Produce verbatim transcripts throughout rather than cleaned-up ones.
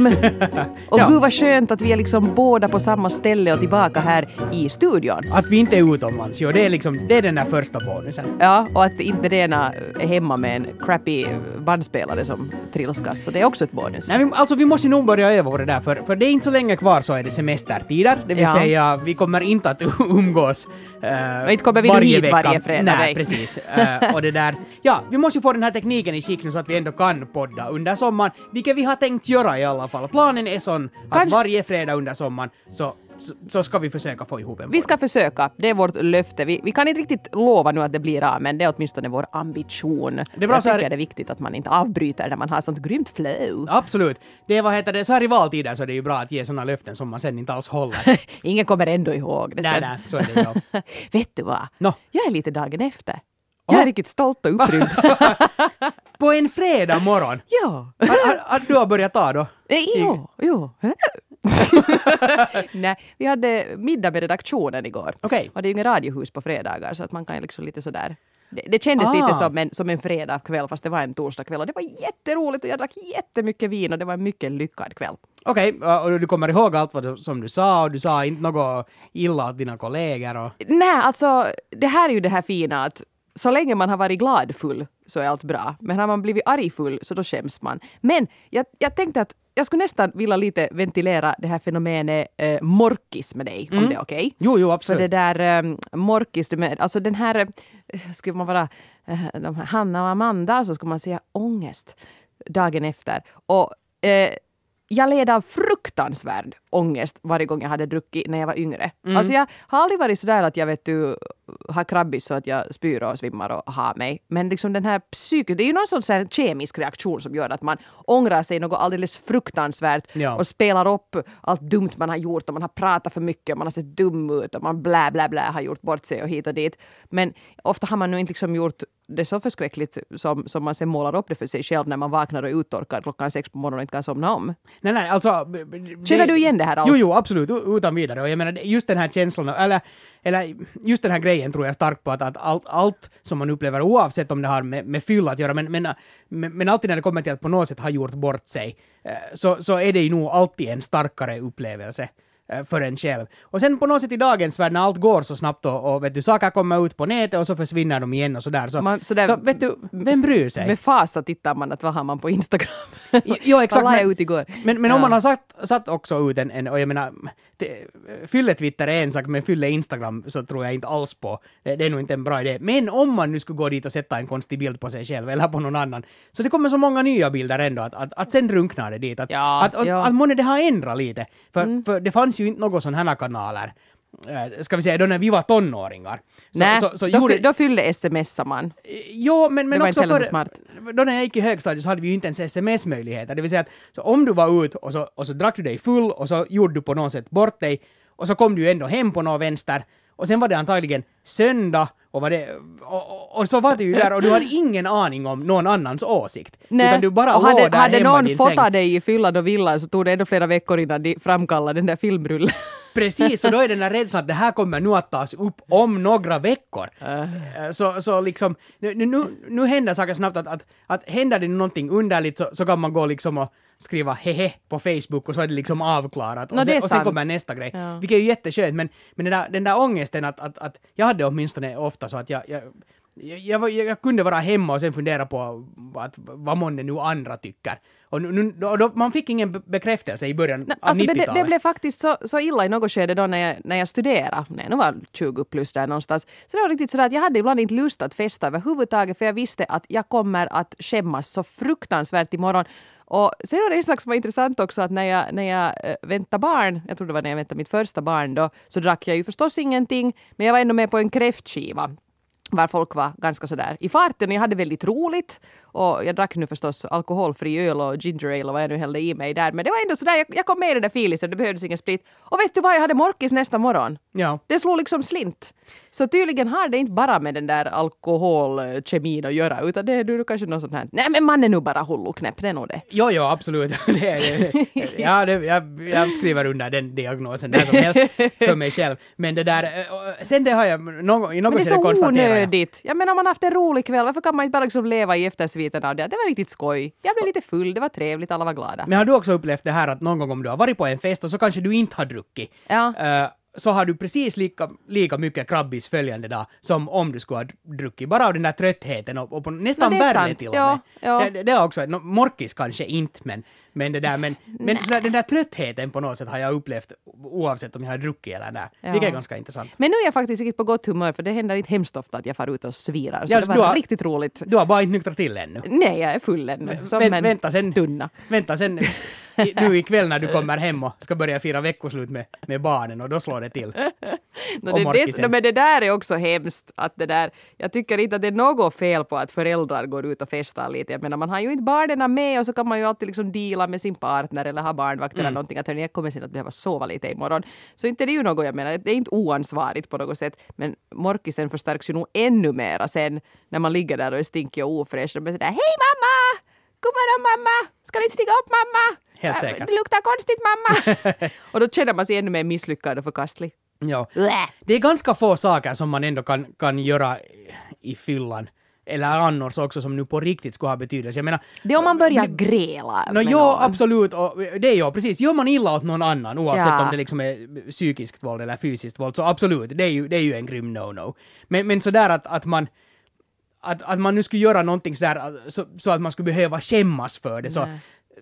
hem. Och Ja. gud vad skönt att vi är liksom båda på samma ställe och tillbaka här i studion. Att vi inte är utomlands, jo, det är liksom, det är den där första bonusen. Ja, och att inte det ena är hemma med en crappy bandspelare som trilskas, så det är också ett bonus. Nej, vi, alltså vi måste nog börja öva på det där, för, för det är inte så länge kvar så är det semestertider, det vill Ja. säga vi kommer inte att umgås uh, Och inte kommer vi varje hit vecka. varje fredag, Nej, nej. precis. Uh, och det där, ja, vi måste ju få den här tekniken i skick nu så att vi ändå kan podda under sommaren, vilket vi har tänkt göra i alla fall. Planen är sån att Kanske- varje fredag under sommaren så, så, så ska vi försöka få ihop en Vi podd. ska försöka, det är vårt löfte. Vi, vi kan inte riktigt lova nu att det blir av, men det är åtminstone vår ambition. Det är bra Jag så här- tycker det är viktigt att man inte avbryter när man har sånt grymt flow. Absolut. Det är, vad heter det, så här i valtider så är det ju bra att ge såna löften som man sen inte alls håller. Ingen kommer ändå ihåg det Nej, sen. nej, så är det ja. Vet du vad? Nå. Jag är lite dagen efter. Jag är Åh. riktigt stolt och upprymd. På en fredag morgon. ja. Att, att, att du har börjat ta då? Eh, Jo, jo. Nej, vi hade middag med redaktionen igår. Okej. Och det är ju ingen radiohus på fredagar så att man kan ju liksom lite sådär. Det, det kändes Ah. lite som en, som en fredagkväll fast det var en torsdagkväll och det var jätteroligt och jag drack jättemycket vin och det var en mycket lyckad kväll. Okej, och du kommer ihåg allt vad du, som du sa och du sa inte något illa åt dina kollegor och... Nej, alltså det här är ju det här fina att så länge man har varit gladfull så är allt bra. Men har man blivit argfull så då skäms man. Men jag, jag tänkte att jag skulle nästan vilja lite ventilera det här fenomenet eh, morkis med dig, om det är okej. Jo, jo, För absolut. det där um, morkis, det med, alltså den här, eh, skulle man vara eh, de här Hanna och Amanda så skulle man säga ångest dagen efter. Och eh, jag led av fruktansvärd ångest varje gång jag hade druckit när jag var yngre. Mm. Alltså jag har aldrig varit sådär att jag vet du har krabbis så att jag spyr och svimmar och har mig. Men liksom den här psyket, det är ju någon sån så här kemisk reaktion som gör att man ångrar sig något alldeles fruktansvärt Ja. och spelar upp allt dumt man har gjort och man har pratat för mycket, man har sett dum ut och man blä blä blä har gjort bort sig och hit och dit. Men ofta har man nu inte liksom gjort det så förskräckligt som, som man sen målar upp det för sig själv när man vaknar och är uttorkad klockan sex på morgonen och inte kan somna om. Nej, nej, alltså... b- b- Känner det- du igen det här alls? Jo, jo, absolut, u- utan vidare. Och jag menar, just den här känslan, eller, eller just den här grejen tror jag starkt på att, att allt, allt som man upplever, oavsett om det har med, med fylla att göra, men, men, men, men alltid när det kommer till att på något sätt ha gjort bort sig, eh, så, så är det ju nog alltid en starkare upplevelse eh, för en själv. Och sen på något sätt i dagens värld när allt går så snabbt och, och vet du, saker kommer ut på nätet och så försvinner de igen och sådär. Så, Man- så där- så vet du, vem bryr sig? Med fasa tittar man att vad har man på Instagram. Jo, exakt. Vad la jag Men, ut igår? men, men Ja. om man har satt, satt också ut en, en och jag menar, det, fylle-Twitter är en sak, men fylle-Instagram så tror jag inte alls på. Det, det är nog inte en bra idé. Men om man nu skulle gå dit och sätta en konstig bild på sig själv eller på någon annan, så det kommer så många nya bilder ändå att, att, att sen drunknar det dit. Att, Ja, att, att, ja. att månne det har ändrat lite. För, för det fanns ju inte några sådana här kanaler, eh, ska vi säga, då när vi var tonåringar. Så, Nej, så, så då, gjorde- fy- då fyllde smsar man. Jo, men, men Det var också inte heller för... så smart. Då när jag gick i högstadiet så hade vi ju inte ens sms-möjligheter. Det vill säga att så om du var ut och så, och så drack du dig full och så gjorde du på något sätt bort dig och så kom du ju ändå hem på något vänster och sen var det antagligen söndag och, var det, och, och, och så var det ju där och du hade ingen aning om någon annans åsikt. Nej. Utan du bara och låg hade, där hade hemma i någon din fotat säng. dig i fyllan och villan så tog det ändå flera veckor innan de framkallade den där filmrullen. Precis, och då är den där rädslan att det här kommer nu att tas upp om några veckor. Äh. Så, så liksom, nu, nu, nu händer saker snabbt att, att, att händer det någonting underligt så, så kan man gå liksom och skriva hehe på Facebook och så är det liksom avklarat. Nå, och, det sen, är och sen sant. kommer nästa grej. Ja. Vilket är ju jätteskönt, men, men den, där, den där ångesten att, att, att jag hade åtminstone ofta så att jag, jag Jag, jag, var- jag kunde vara hemma och sen fundera på att, vad månne nu andra tycker. Och nu, nu, då, då, man fick ingen be- bekräftelse i början Nej, av alltså det, det, nittiotalet. det blev faktiskt så, så illa i något skede då när jag, när jag studerade, när jag nog var tjugo plus där någonstans. Så det var riktigt sådär att jag hade ibland inte lust att festa överhuvudtaget för jag visste att jag kommer att skämmas så fruktansvärt imorgon. Och sen var det en sak som var intressant också att när jag, när jag äh, väntade barn, jag tror det var när jag väntade mitt första barn då, så drack jag ju förstås ingenting, men jag var ändå med på en kräftskiva. Var folk var ganska sådär i farten. Jag hade väldigt roligt. Och jag drack nu förstås alkoholfri öl och ginger ale och vad jag nu hällde i mig där. Men det var ändå sådär, jag, jag kom med i den där filisen, det behövdes ingen sprit. Och vet du vad, jag hade morkis nästa morgon. Ja. Det slog liksom slint. Så tydligen har det inte bara med den där alkoholkemin att göra, utan det är du kanske något sånt här. Nej men man är nu bara hulluknäpp, det är nog det. Jo, jo, absolut. det, är- det, ja, det, jag, jag skriver under den diagnosen där som helst för mig själv. Men det där, eh, sen det har jag någon, i något Men det är skede så konstaterat. onödigt. Jag menar, man har haft en rolig kväll. Varför kan man inte bara liksom leva i eftersviten av det? Det var riktigt skoj. Jag blev lite full, det var trevligt, alla var glada. Men har du också upplevt det här att någon gång om du har varit på en fest och så kanske du inte har druckit, Ja. uh, så har du precis lika, lika mycket krabbis följande dag som om du skulle ha druckit. Bara av den där tröttheten och, och på nästan No, det är värre sant. till och Ja, med. ja. Det, det, det är också, no, morkis kanske inte, men, men, det där, men, men sådär, den där tröttheten på något sätt har jag upplevt oavsett om jag har druckit eller där. Ja. Vilket är ganska intressant. Men nu är jag faktiskt riktigt på gott humör, för det händer inte hemskt ofta att jag far ut och svirar. Så Ja, det så var du har- riktigt roligt. Du har bara inte nyktrat till ännu. Nej, jag är full ännu. Som Vänt- en vänta sen. tunna. Vänta sen i, nu ikväll när du kommer hem och ska börja fira veckoslut med, med barnen och då slår det till. No, Och det, det, morkisen. no, men det där är också hemskt. Att det där, jag tycker inte att det är något fel på att föräldrar går ut och festar lite. Jag menar, man har ju inte barnen med och så kan man ju alltid liksom deala med sin partner eller ha barnvakt Mm. eller någonting. Att hörni, jag kommer sen att behöva sova lite imorgon. Så inte det är ju något, jag menar, det är inte oansvarigt på något sätt. Men morkisen förstärks ju nog ännu mera sen när man ligger där och är stinkig och ofräsch. Och man säger, hej mamma! God morgon mamma! Ska ni stiga upp mamma? Helt Äh, säkert. Det luktar konstigt mamma! Och då känner man sig ännu mer misslyckad och förkastlig. Ja. Blä. Det är ganska få saker som man ändå kan, kan göra i fyllan. Eller annars också som nu på riktigt skulle ha betydelse. Jag menar, Det är om man börjar gräla no, med jo, någon. absolut. Och det är ju precis. Gör man illa åt någon annan, oavsett Ja. om det liksom är psykiskt våld eller fysiskt våld, så absolut, det är ju, det är ju en grym no-no. Men, men sådär att, att man att, att man nu skulle göra någonting sådär så, så att man skulle behöva skämmas för det. Så, Nej.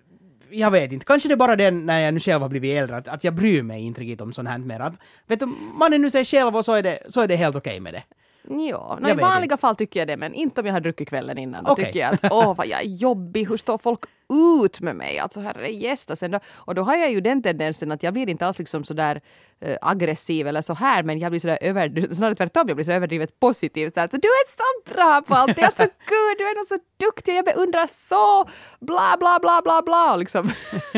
jag vet inte, kanske det är bara den när jag nu själv har blivit äldre, att, att jag bryr mig inte riktigt om sånt här mer. Att, vet du, man är nu sig själv och så är det, så är det helt okej med det. Ja, no, Jag i vet vanliga fall tycker jag det, men inte om jag har druckit kvällen innan. Då Okej. tycker jag att åh vad jag är jobbig, hur står folk ut med mig? Alltså herre gästa sen då. Och då har jag ju den tendensen att jag blir inte alls liksom sådär äh, aggressiv eller så här, men jag blir sådär över, snarare tvärtom, jag blir så överdrivet positiv. Så, här, så du är så bra på allt, det är så gud, du är nog så duktig, jag beundrar så, bla bla bla bla bla, liksom.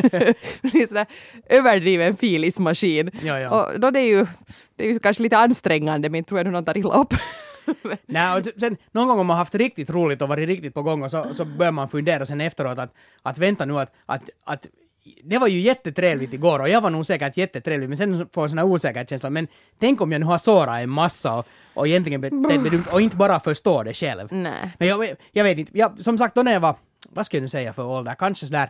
blir sådär överdriven filismaskin. Ja, ja. Och då det är ju, det är ju kanske lite ansträngande, men tror jag nu någon tar illa upp. Nej, och sen, någon gång om man har haft riktigt roligt och varit riktigt på gång och så, så börjar man fundera sen efteråt att, att vänta nu att, att, att det var ju jättetrevligt igår och jag var nog säkert jättetrevlig, men sen får jag sån här osäkerhetskänsla, men tänk om jag nu har sårat en massa och, och egentligen betett mig dumt och inte bara förstår det själv. Nej. Men jag, jag vet inte, jag, som sagt då när jag var, vad ska jag nu säga för ålder, kanske sådär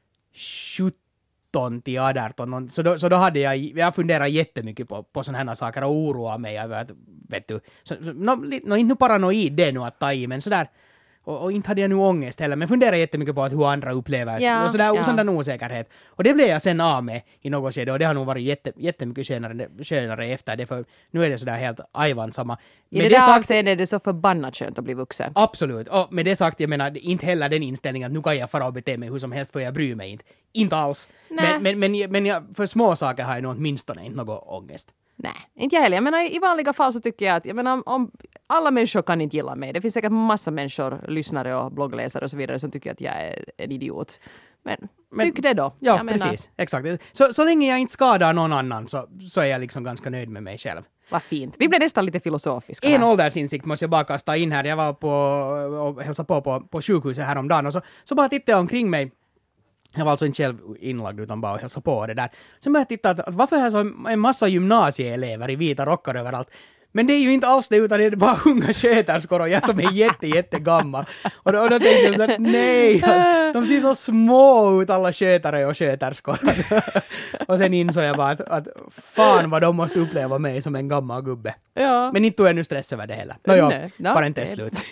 sjutton till arton, någon- så då, så då hade jag, jag funderat jättemycket på, på sådana här saker och oroa mig över att, vet du, så, så, no, li- no, inte nu paranoid det nu att ta i, men sådär, och, och inte hade jag nu ångest heller, men funderade jättemycket på att hur andra upplever Ja, och sådär, ja. sådan osäkerhet. Och det blev jag sen av med i något skede och det har nog varit jätte, jättemycket skönare, skönare efter det, för nu är det sådär helt ajvan samma. I Med det där sagt- avseendet är det så förbannat skönt att bli vuxen. Absolut. Och med det sagt, jag menar inte heller den inställningen att nu kan jag fara och bete mig hur som helst för jag bryr mig inte. Inte alls. Nej. Men, men, men, men jag, för små saker har jag nog åtminstone inte någon ångest. Nej, inte jag heller. Jag menar, i vanliga fall så tycker jag att jag menar, om alla människor kan inte gilla mig. Det finns säkert massa människor, lyssnare och bloggläsare och så vidare som tycker att jag är en idiot. Men, Men- tyck det då. Ja, Jag menar, precis. Exakt. Så, så länge jag inte skadar någon annan så, så är jag liksom ganska nöjd med mig själv. vad fint. Vi blev nästan lite filosofiska. En här. åldersinsikt måste jag bara kasta in här. Jag var på och hälsade på, på på sjukhuset häromdagen och så, så bara tittade jag omkring mig. Jag var alltså inte själv inlagd utan bara hälsade på det där. Så började jag titta att, att varför är det så en massa gymnasieelever i vita rockar överallt? Men det är ju inte alls det, utan det är bara unga sköterskor och jag som är jätte, jätte gammal. Och då, och då tänkte jag så att nej, de ser så små ut alla skötare och sköterskor. Och sen insåg jag bara att, att fan vad de måste uppleva mig som en gammal gubbe. Ja. Men inte tog jag nu stress över det heller. Nåja, Nej, no, parentes det- slut.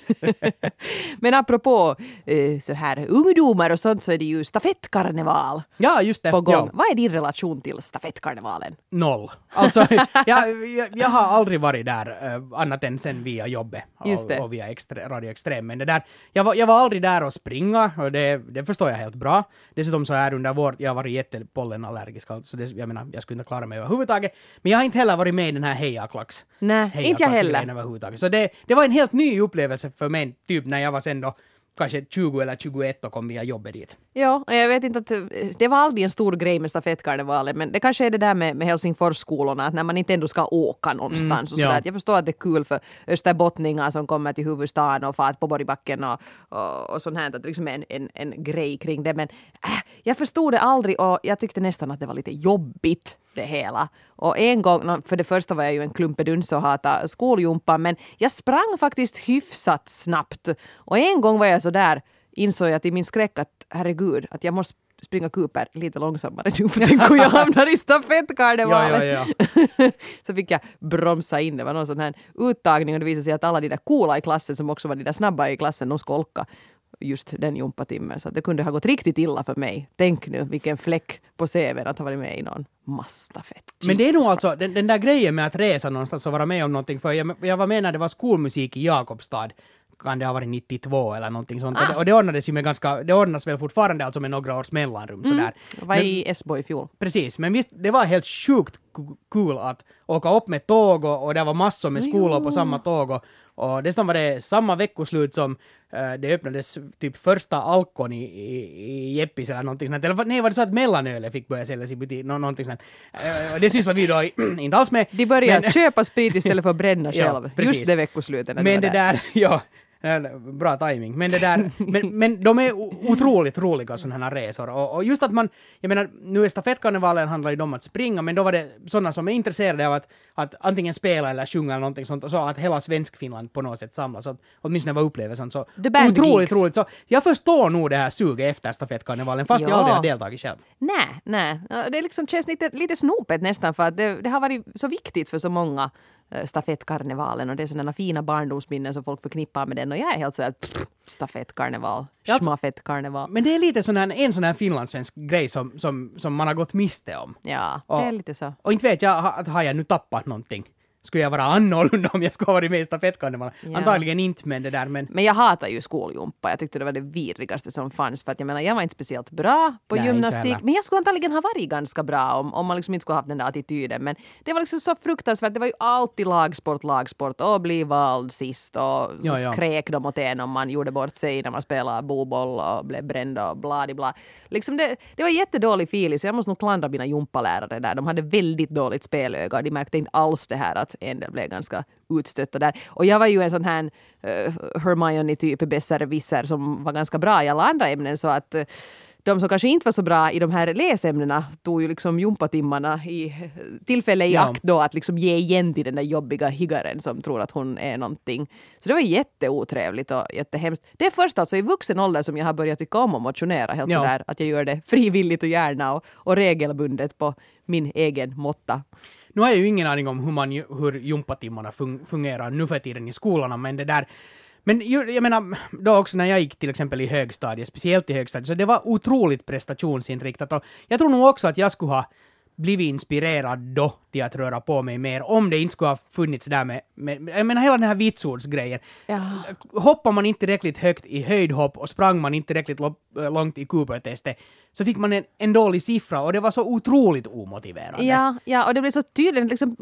Men apropå eh, så här ungdomar och sånt så är det ju stafettkarneval Ja, just det. på gång. Ja. Vad är din relation till stafettkarnevalen? Noll. Alltså, jag, jag, jag har aldrig varit där uh, annat än sen via jobbet Just det. och, och via extre, Radio Extrem. Men det där, jag, var, jag var aldrig där och springa och det, det förstår jag helt bra. Dessutom så är under vårt, jag har varit jättepollenallergisk, så det, jag menar, jag skulle inte klara mig överhuvudtaget. Men jag har inte heller varit med i den här hejaklax. Nej, inte jag heller. Överhuvudtaget. Så det, det var en helt ny upplevelse för mig, typ när jag var sen då kanske tjugo eller tjugoett och kom via jobbet dit. Ja, och jag vet inte att eh, det var aldrig en stor grej med stafettkarnevalen, men det kanske är det där med, med Helsingforsskolorna, att när man inte ändå ska åka någonstans och ja. sådär. Att jag förstår att det är kul för österbottningar som kommer till huvudstaden och fart på Borgbacken och, och, och sånt här, att det liksom är en, en, en grej kring det, men äh, jag förstod det aldrig och jag tyckte nästan att det var lite jobbigt. det hela. Och en gång, för det första var jag ju en klumpeduns och hatade skoljumpan, men jag sprang faktiskt hyfsat snabbt. Och en gång var jag så där, insåg jag till min skräck att herregud, att jag måste springa Cooper lite långsammare nu för tänk hur jag hamnar i stafettkarnevalen. Ja, ja, ja. Så fick jag bromsa in. Det var någon sån här uttagning och det visade sig att alla de där coola i klassen som också var de där snabba i klassen, de skolka just den jumpatimmen. Så det kunde ha gått riktigt illa för mig. Tänk nu vilken fläck på C V:n att ha varit med i någon massstafett. Men det är nog alltså den, den där grejen med att resa någonstans och vara med om någonting. För jag, jag var med när det var skolmusik i Jakobstad. Kan det ha varit nittiotvå eller någonting sånt. Ah. Och, det, och det ordnades ju med ganska, det ordnas väl fortfarande alltså med några års mellanrum. Mm. Sådär. Jag var men, i Esbo i fjol. Precis, men visst, det var helt sjukt kul att åka upp med tåg och, och det var massor med skolor på samma tåg. Och, och dessutom var det samma veckoslut som uh, det öppnades typ första alkon i, i, i Jeppis eller någonting sånt. Eller nej, var det så att mellanölet fick börja säljas i butik? Nå, någonting sånt. Uh, det sysslar vi då inte alls med. De började köpa sprit istället för att bränna själv. Ja, just det veckoslutet. Men det där, ja. Bra timing. Men det där, men, men de är otroligt roliga sådana här resor. Och, och just att man, jag menar, nu är stafettkarnevalen handlar ju om att springa, men då var det sådana som är intresserade av att, att antingen spela eller sjunga eller någonting sånt, och så att hela Svenskfinland på något sätt samlas. Så åtminstone var upplevelsen så otroligt roligt. Så jag förstår nog det här suget efter stafettkarnevalen, fast ja. jag aldrig har deltagit själv. Nej, nej. Det liksom känns lite, lite snopet nästan, för att det, det har varit så viktigt för så många stafettkarnevalen, och det är sådana fina barndomsminnen som folk förknippar med den, och jag är helt sådär pff, stafettkarneval, schmafettkarneval. Men det är lite sån här, en sån här finlandssvensk grej som, som, som man har gått miste om. Ja, och, det är lite så. Och inte vet jag, att har jag nu tappat någonting? Skulle jag vara annorlunda om jag skulle ha varit med i stafettkarnevalen? Ja. Antagligen inte, men det där. Men... men jag hatar ju skoljumpa. Jag tyckte det var det vidrigaste som fanns. För att jag menar, jag var inte speciellt bra på Nej, gymnastik. Men jag skulle antagligen ha varit ganska bra om, om man liksom inte skulle ha haft den där attityden. Men det var liksom så fruktansvärt. Det var ju alltid lagsport, lagsport. Och bli vald sist. Och så ja, ja. skrek de åt en om man gjorde bort sig när man spelade boboll och blev bränd och bladibla. Liksom det, det var jättedålig feeling. Så jag måste nog klandra mina jumpalärare där. De hade väldigt dåligt spelöga. De märkte inte alls det här att en del blev ganska utstötta där. Och jag var ju en sån här uh, Hermione-typ besserwisser som var ganska bra i alla andra ämnen, så att uh, de som kanske inte var så bra i de här läsämnena tog ju liksom jumpatimmarna i tillfälle i ja. akt då att liksom ge igen till den där jobbiga higgaren som tror att hon är någonting. Så det var jätteotrevligt och jättehemskt. Det är först alltså i vuxen ålder som jag har börjat tycka om att motionera helt ja. sådär, att jag gör det frivilligt och gärna och, och regelbundet på min egen måtta. Nu har jag ju ingen aning om hur, man, hur jumpatimmarna fun- fungerar nu för tiden i skolorna, men det där... Men jag menar, då också när jag gick till exempel i högstadiet, speciellt i högstadiet, så det var otroligt prestationsinriktat. Och jag tror nog också att jag skulle ha blivit inspirerad då till att röra på mig mer, om det inte skulle ha funnits där med, med jag menar hela den här vitsordsgrejen. Ja. Hoppar man inte tillräckligt högt i höjdhopp och sprang man inte tillräckligt långt i Cooper-testet, så fick man en, en dålig siffra, och det var så otroligt omotiverande. Ja, ja, och det blev så tydligt liksom...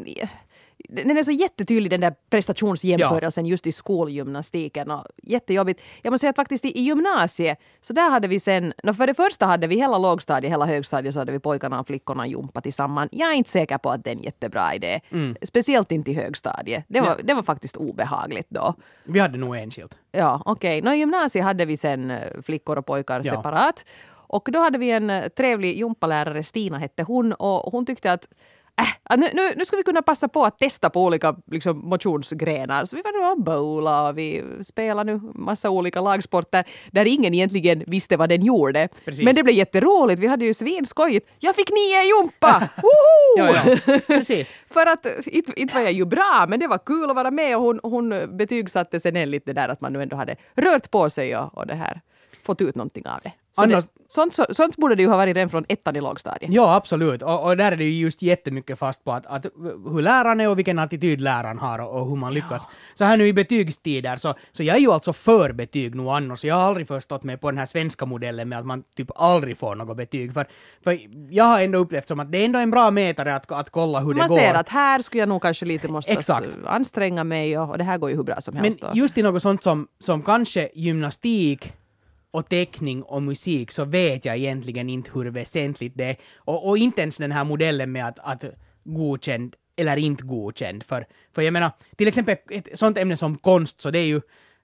Den är så jättetydlig, den där prestationsjämförelsen ja. just i skolgymnastiken, och jättejobbigt. Jag måste säga att faktiskt i, i gymnasiet, så där hade vi sen, för det första hade vi hela lågstadiet, hela högstadiet, så hade vi pojkarna och flickorna jumpa tillsammans. Jag är inte säker på att det är en jättebra idé. Mm. Speciellt inte i högstadiet. Det var, ja. det var faktiskt obehagligt då. Vi hade nog enskilt. Ja, okej. Okay. I gymnasiet hade vi sen flickor och pojkar ja. separat. Och då hade vi en trevlig jumpalärare, Stina hette hon, och hon tyckte att Äh, nu, nu, nu ska vi kunna passa på att testa på olika liksom, motionsgrenar. Så vi var då bowla och vi spelade nu massa olika lagsporter där ingen egentligen visste vad den gjorde. Precis. Men det blev jätteroligt. Vi hade ju svinskojigt. Jag fick nio jumpa! Woho! ja, ja. Precis. För att inte, inte var jag ju bra, men det var kul att vara med, och hon, hon betygsatte sen en lite där att man nu ändå hade rört på sig och, och det här fått ut någonting av det. Så Annars... det, sånt, så, sånt borde det ju ha varit redan från ettan i lågstadiet. Ja, absolut. Och, och där är det ju just jättemycket fast på att, att hur läraren är och vilken attityd läraren har och, och hur man lyckas. Ja. Så här nu i betygstider, så, så jag är ju alltså för betyg nu annars. Jag har aldrig förstått mig på den här svenska modellen med att man typ aldrig får något betyg. För, för jag har ändå upplevt som att det är ändå en bra mätare att, att kolla hur man det går. Man ser att här skulle jag nog kanske lite måste anstränga mig, och, och det här går ju hur bra som helst. Men just i något sånt som, som kanske gymnastik och teckning och musik, så vet jag egentligen inte hur väsentligt det är. Och, och inte ens den här modellen med att, att godkänd eller inte godkänd. För, för jag menar, till exempel ett sånt ämne som konst, så det är ju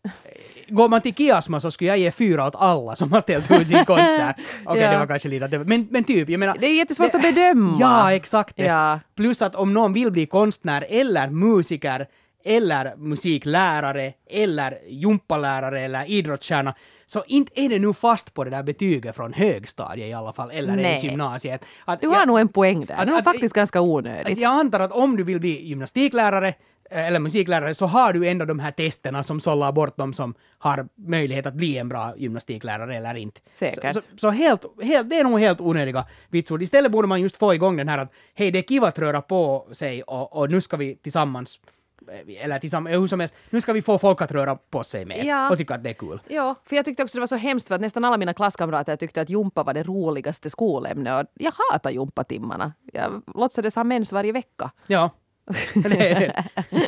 går man till Kiasma så skulle jag ge fyra åt alla som har ställt ut sin konst där. Okej, okay, Ja. det var kanske lite... Men, men typ, jag menar... Det är jättesvårt att bedöma. Ja, exakt det. Ja. Plus att om någon vill bli konstnär eller musiker eller musiklärare eller jumpalärare eller idrottsstjärna, så inte är det nu fast på det där betyget från högstadiet i alla fall, eller Nej. ens gymnasiet. Att Du har jag, nog en poäng där. att- Det är nog att- faktiskt ganska att onödigt. jag antar att om du vill bli gymnastiklärare eh, eller musiklärare så har du ändå de här testerna som sållar bort de som har möjlighet att bli en bra gymnastiklärare eller inte. Säkert. Så, så, så helt, helt, det är nog helt onödiga vitsord. Istället borde man just få igång den här att hej, det är kiva att röra på sig och, och nu ska vi tillsammans eller tillsammans, hur som helst, nu ska vi få folk att röra på sig mer Ja. och tycka att det är kul. Ja, för jag tyckte också det var så hemskt för att nästan alla mina klasskamrater tyckte att jumpa var det roligaste skolämnet och jag hatar jumpatimmarna. Jag låtsades ha mens varje vecka. Ja. Det-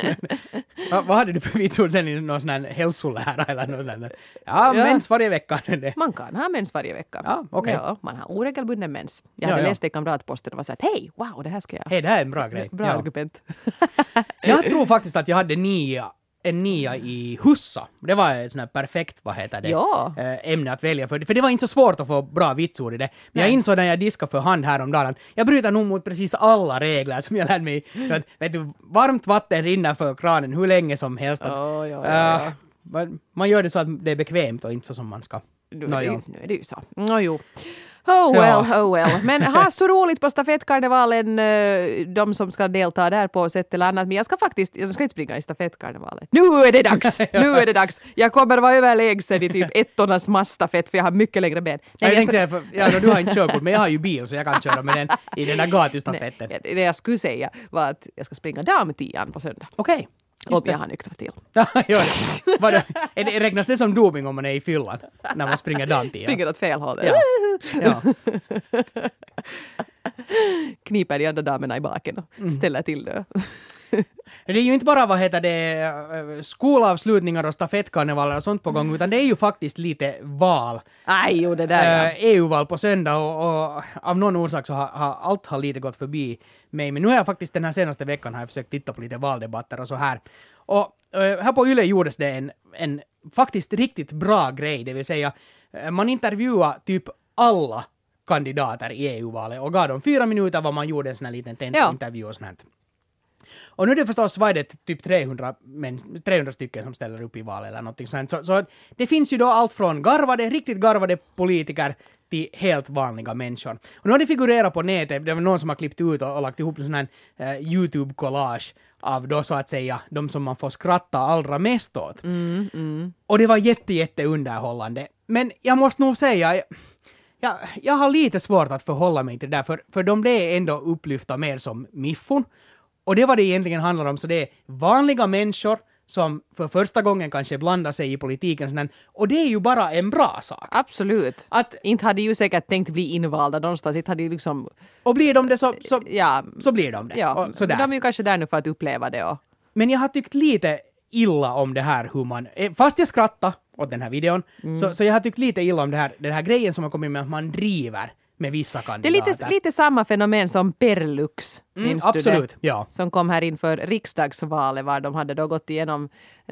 Va, vad hade du för vitsord sen i någon sån här hälsolära eller något sånt? Ja, Ja. mens varje vecka. Det. Man kan ha mens varje vecka. Ja, okej. Ja, man har oregelbunden mens. Jag Ja, hade ja. läst det i kamratposten och var så att hej, wow, det här ska jag... Hej, det här är en bra grej. Bra Ja. argument. Jag tror faktiskt att jag hade nia, en nia i hussa. Det var ett sånt här perfekt, vad heter det, Ja. eh, ämne att välja för. För det var inte så svårt att få bra vitsord i det. Men jag Nej. insåg när jag diskade för hand häromdagen att jag bryter nog mot precis alla regler som jag lärde mig. Att, vet du, varmt vatten rinner för kranen hur länge som helst. Att, Ja, ja, ja, ja. eh, man, man gör det så att det är bekvämt och inte så som man ska. Nu, Nå, är det ju, ja. nu är det ju så. Nå, jo. Oh well, Ja. oh well. Men ha så roligt på stafettkarnevalen, eh, de som ska delta där på sätt eller annat. Men jag ska faktiskt, jag ska inte springa i stafettkarnevalen. Nu är det dags! Nu är det dags! Jag kommer vara överlägsen i typ ettornas massstafett för jag har mycket längre ben. Jag Nej, tänkte säga, för, ja, du har inte körkort, men jag har ju bil så jag kan köra med den i den där gatustafetten. nej, det jag skulle säga var att jag ska springa damtian på söndag. Okej. Om jag har nyktrat till. Ja, gör det. Vadå? Är det. Räknas det som doping om man är i fyllan? När man springer damtid? Springer åt fel håll. Ja. Ja. Kniper de andra damerna i baken och ställer till det. Det är ju inte bara vad heter det, eh, skolavslutningar och stafettkarnevaler och sånt på gång, utan det är ju faktiskt lite val. Aj, jo det där ja. Eh, E U-val på söndag och, och av någon orsak så har, har allt har lite gått förbi mig. Men nu har jag faktiskt den här senaste veckan har jag försökt titta på lite valdebatter och så här. Och eh, här på Yle gjordes det en, en faktiskt riktigt bra grej, det vill säga eh, man intervjuade typ alla kandidater i E U-valet och gav dem fyra minuter vad man gjorde en sån här liten tent- Ja. intervju och sånt här. Och nu är det förstås var det typ trehundra, men, trehundra stycken som ställer upp i val eller någonting sånt. Så, så det finns ju då allt från garvade, riktigt garvade politiker till helt vanliga människor. Och nu har det figurerat på nätet, det var någon som har klippt ut och, och lagt ihop en sån här eh, YouTube-collage av då så att säga de som man får skratta allra mest åt. Mm, mm. Och det var jätte, jätte underhållande. Men jag måste nog säga, jag, jag har lite svårt att förhålla mig till det där, för, för de blev ändå upplyfta mer som miffon. Och det var det egentligen handlar om, så det är vanliga människor som för första gången kanske blandar sig i politiken. Och, sådär. Och det är ju bara en bra sak. Absolut. Att, Inte hade ju säkert tänkt bli invalda någonstans. Inte hade ju liksom... och blir de det så, så, Ja, så blir de det. ja. Och sådär. De är ju kanske där nu för att uppleva det. Och... Men jag har tyckt lite illa om det här hur man, eh, fast jag skrattar åt den här videon, Mm. så, så jag har tyckt lite illa om det här, den här grejen som har kommit med att man driver med vissa Det är kandidater. lite, lite samma fenomen som Perlux. Mm, Minns du absolut, det? ja. Som kom här inför riksdagsvalet var de hade då gått igenom...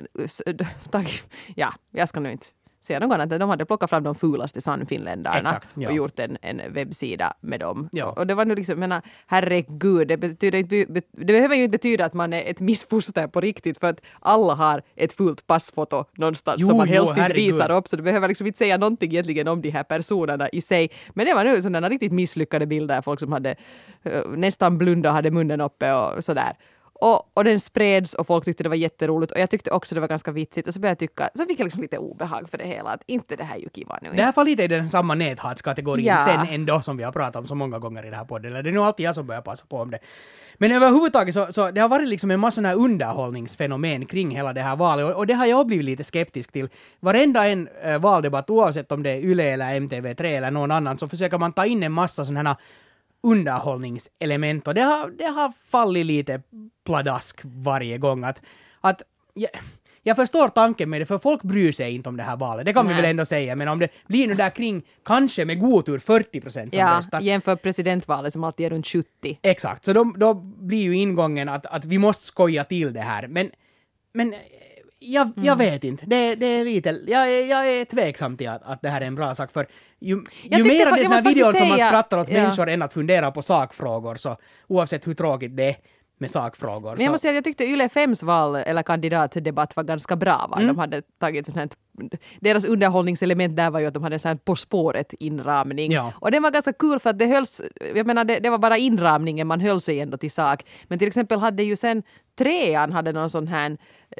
Ja, jag ska nu inte säga något annat. De hade plockat fram de fulaste sannfinländarna Exakt, ja. och gjort en, en webbsida med dem. Ja. Och det var nu liksom, menar, herregud, det, betyder inte, det behöver ju inte betyda att man är ett missfoster på riktigt, för att alla har ett fult passfoto någonstans Jo, som man jo, helst inte herregud. visar upp, så du behöver liksom inte säga någonting egentligen om de här personerna i sig. Men det var nu sådana riktigt misslyckade bilder, folk som hade uh, nästan blunda, hade munnen uppe och sådär. Och, och den spreds och folk tyckte det var jätteroligt och jag tyckte också det var ganska vitsigt och så började jag tycka, så fick jag liksom lite obehag för det hela, att inte det här är ju kiva nu. Det här var lite i den samma näthatskategorin Ja. sen ändå som vi har pratat om så många gånger i den här podden. Eller det är nog alltid jag som börjar passa på om det. Men överhuvudtaget så, så det har varit liksom en massa sån här underhållningsfenomen kring hela det här valet och, och det har jag blivit lite skeptisk till. Varenda en äh, valdebatt, oavsett om det är Yle eller M T V tre eller någon annan, så försöker man ta in en massa sådana här underhållningselement och det har, det har fallit lite pladask varje gång. Att, att jag, jag förstår tanken med det, för folk bryr sig inte om det här valet. Det kan Nej. vi väl ändå säga, men om det blir nu där kring, kanske med god tur fyrtio procent som Ja, röstar. jämför presidentvalet som alltid är runt sjuttio. Exakt, så då, då blir ju ingången att, att vi måste skoja till det här. Men, men Jag, jag mm. vet inte. Det, det är lite, jag, jag är tveksam till att, att det här är en bra sak. För ju, ju mer av dessa videor som man skrattar åt ja. människor än att fundera på sakfrågor, så oavsett hur tråkigt det är med sakfrågor. Men jag måste säga att jag tyckte Yle fems val eller kandidatdebatt var ganska bra. Va? Mm. De hade tagit sånt här, deras underhållningselement där var ju att de hade en sån här På spåret inramning. Ja. Och det var ganska kul för att det hölls, jag menar det, det var bara inramningen, man höll sig ändå till sak. Men till exempel hade ju sen trean hade någon sån här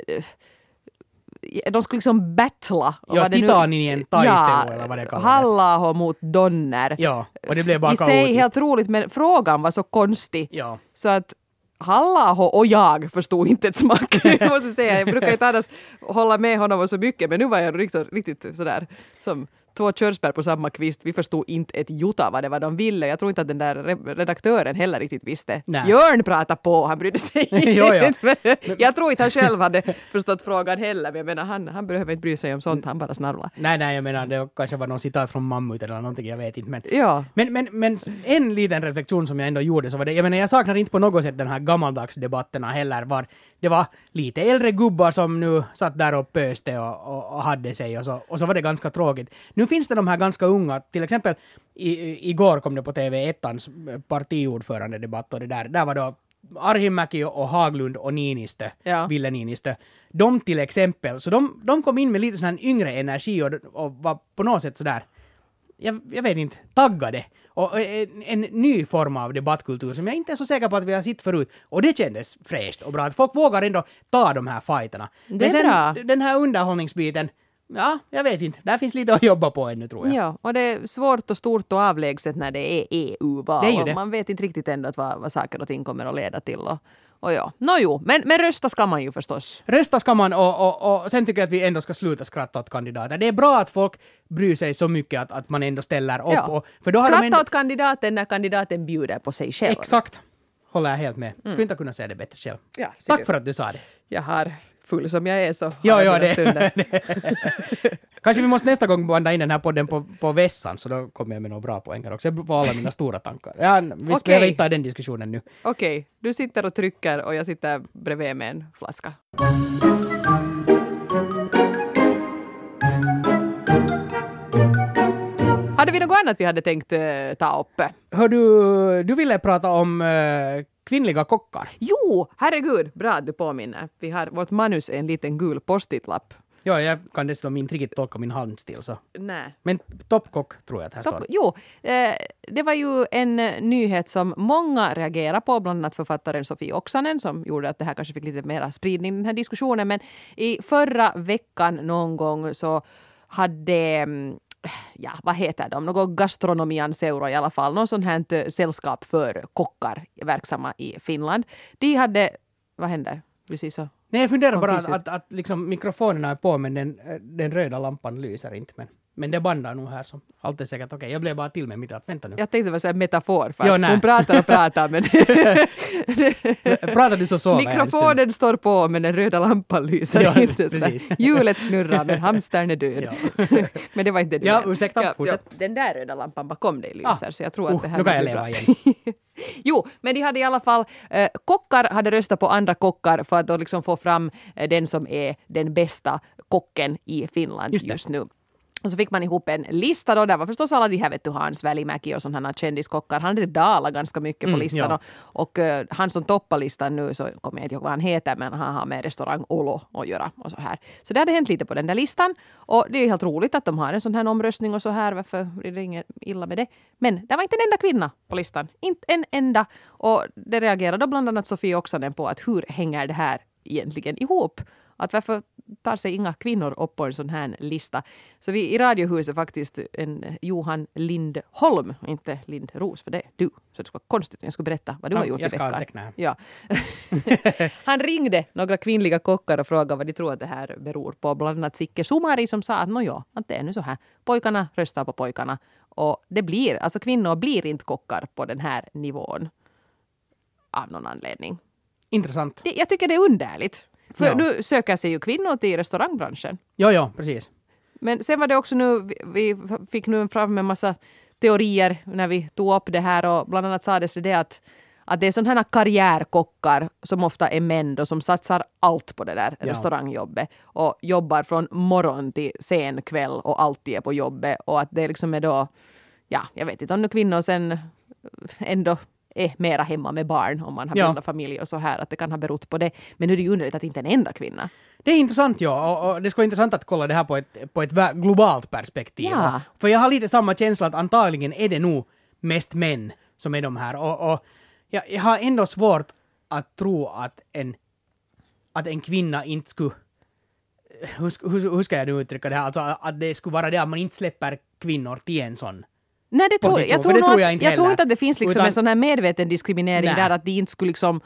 de skulle liksom battla. Ja, titanien taistelu ja, eller vad det kallades. Halla-aho mot Donner. Ja, och det blev bara i kaotiskt. sig helt roligt, men frågan var så konstig. Ja. Så att Halla-aho och jag förstod inte ett smack. Jag måste säga, jag brukar inte annars hålla med honom så mycket, men nu var jag riktigt, riktigt sådär som två körsbär på samma kvist. Vi förstod inte ett jota vad det var de ville. Jag tror inte att den där redaktören heller riktigt visste. Nej. Jörn pratade på, han brydde sig jo, ja. Jag tror inte han själv hade förstått frågan heller. Men jag menar, han, han behöver inte bry sig om sånt, han bara snarlar. Nej, nej, jag menar, det kanske var någon citat från Mammut eller någonting, jag vet inte. Men, ja. men, men, men en liten reflektion som jag ändå gjorde, så var det, jag menar, jag saknar inte på något sätt den här gammaldagsdebatterna heller, var det var lite äldre gubbar som nu satt där och pöste och, och, och hade sig, och så, och så var det ganska tråkigt. Nu finns det de här ganska unga, till exempel i, igår kom det på T V ettans partiordförande debatt, och det där, där var då Arhimäki och Haglund och Niinistö, ja. Ville Niinistö, de till exempel, så de, de kom in med lite sån här yngre energi och, och var på något sätt sådär, jag, jag vet inte, taggade. Och en, en ny form av debattkultur som jag inte är så säker på att vi har sett förut. Och det kändes fräscht och bra. Att folk vågar ändå ta de här fighterna. Det är Men sen bra. Den här underhållningsbiten, ja, jag vet inte. Där finns lite att jobba på ännu, tror jag. Ja, och det är svårt och stort och avlägset när det är E U-val. Det är ju det. Man vet inte riktigt ändå vad, vad saker och ting kommer att leda till. Och, och ja, no, jo. Men, men rösta ska man ju förstås. Rösta ska man, och, och, och sen tycker jag att vi ändå ska sluta skratta åt kandidater. Det är bra att folk bryr sig så mycket att, att man ändå ställer upp. Ja. Och, för då skratta har de ändå... åt kandidaten när kandidaten bjuder på sig själv. Exakt. Håller jag helt med. Mm. Skulle inte kunna säga det bättre själv. Ja, tack du. för att du sa det. Jag har full som jag är så ja, ja, det, det. Kanske vi måste nästa gång banda in den här podden på, på vässan, så då kommer jag med några bra poänger också. Jag får alla mina stora tankar. Ja, vi okay. behöver inte ta den diskussionen nu. Okej, okay. Du sitter och trycker och jag sitter bredvid med en flaska. Hade vi något annat vi hade tänkt uh, ta upp? Hör du, du ville prata om uh, kvinnliga kockar. Jo, herregud, bra att du påminner. Vi har vårt manus en liten gul post-it-lapp. Ja, jag kan dessutom inte riktigt tolka min handstil så. Nej. Men toppkock tror jag att här Top, står. Jo, eh, det var ju en nyhet som många reagerar på, bland annat författaren Sofie Oksanen, som gjorde att det här kanske fick lite mera spridning, den här diskussionen. Men i förra veckan någon gång så hade... ja, vad heter de? Något gastronomian seura i alla fall. Någon sån här sällskap för kockar verksamma i Finland. De hade... Vad händer? Precis så. Nej, jag funderar bara att, att, att liksom mikrofonerna är på, men den, den röda lampan lyser inte. Men, men det bandar nog här som allt är säkert okej. Okay. Jag blev bara till med mitt att vänta nu. Jag tänkte det var så en metafor. För jo, hon pratar och pratar, men... pratar du så så? Mikrofonen står på, men den röda lampan lyser ja, inte. Hjulet snurrar, men hamstern är död. Ja. Men det var inte det. Ja, ursäkta, ja, fortsätt. Ja, den där röda lampan bakom dig lyser, ah, så jag tror uh, att det här... Nu kan jag leva igen. Jo, men de hade i alla fall, eh, kockar hade röstat på andra kockar för att då liksom få fram eh, den som är den bästa kocken i Finland just, just nu. Och så fick man ihop en lista då, där var förstås alla de här, vet du, Hans Välimäki och sådana här kändiskockar. Han hade dalat ganska mycket på mm, listan. ja. Och, och uh, han som toppar listan nu, så kommer jag inte ihåg vad han heter, men han har med restaurang Olo att göra och så här. Så det hade hänt lite på den där listan. Och det är helt roligt att de har en sån här omröstning och så här. Varför blir det inget illa med det? Men det var inte en enda kvinna på listan. Inte en enda. Och det reagerade bland annat Sofie Oksanen på att hur hänger det här egentligen ihop? Att varför tar sig inga kvinnor upp på en sån här lista? Så vi i Radiohuset faktiskt en Johan Lindholm, inte Lindros, för det är du. Så det skulle vara konstigt om jag skulle berätta vad du ja, har gjort i veckan. Jag ska ja. Han ringde några kvinnliga kockar och frågade vad de tror att det här beror på. Bland annat Sikke Sumari som sa att ja, att det är nu så här. Pojkarna röstar på pojkarna. Och det blir, alltså kvinnor blir inte kockar på den här nivån. Av någon anledning. Intressant. Det, jag tycker det är underligt. För ja. Nu söker sig ju kvinnor till restaurangbranschen. Ja, ja, precis. Men sen var det också nu, vi, vi fick nu fram en massa teorier när vi tog upp det här och bland annat sades det att, att det är sådana här karriärkockar som ofta är män då, som satsar allt på det där Ja. restaurangjobbet och jobbar från morgon till sen kväll och alltid är på jobbet och att det liksom är då, ja, jag vet inte om nu kvinnor sen ändå är mera hemma med barn om man har Ja. bildat familj och så här, att det kan ha berott på det. Men nu är det ju underligt att inte en enda kvinna. Det är intressant, ja. Och, och det ska vara intressant att kolla det här på ett, på ett vä- globalt perspektiv. Ja. För jag har lite samma känsla att antagligen är det nog mest män som är de här. Och, och jag, jag har ändå svårt att tro att en, att en kvinna inte skulle... Hur, sk- hur, hur ska jag nu uttrycka det här? Alltså att det skulle vara det att man inte släpper kvinnor till en sån. Nej, det tror, position, jag, för tror det nog tror att, jag inte jag tror heller. inte att det finns liksom Utan- en sån här medveten diskriminering Nej. där att de inte skulle liksom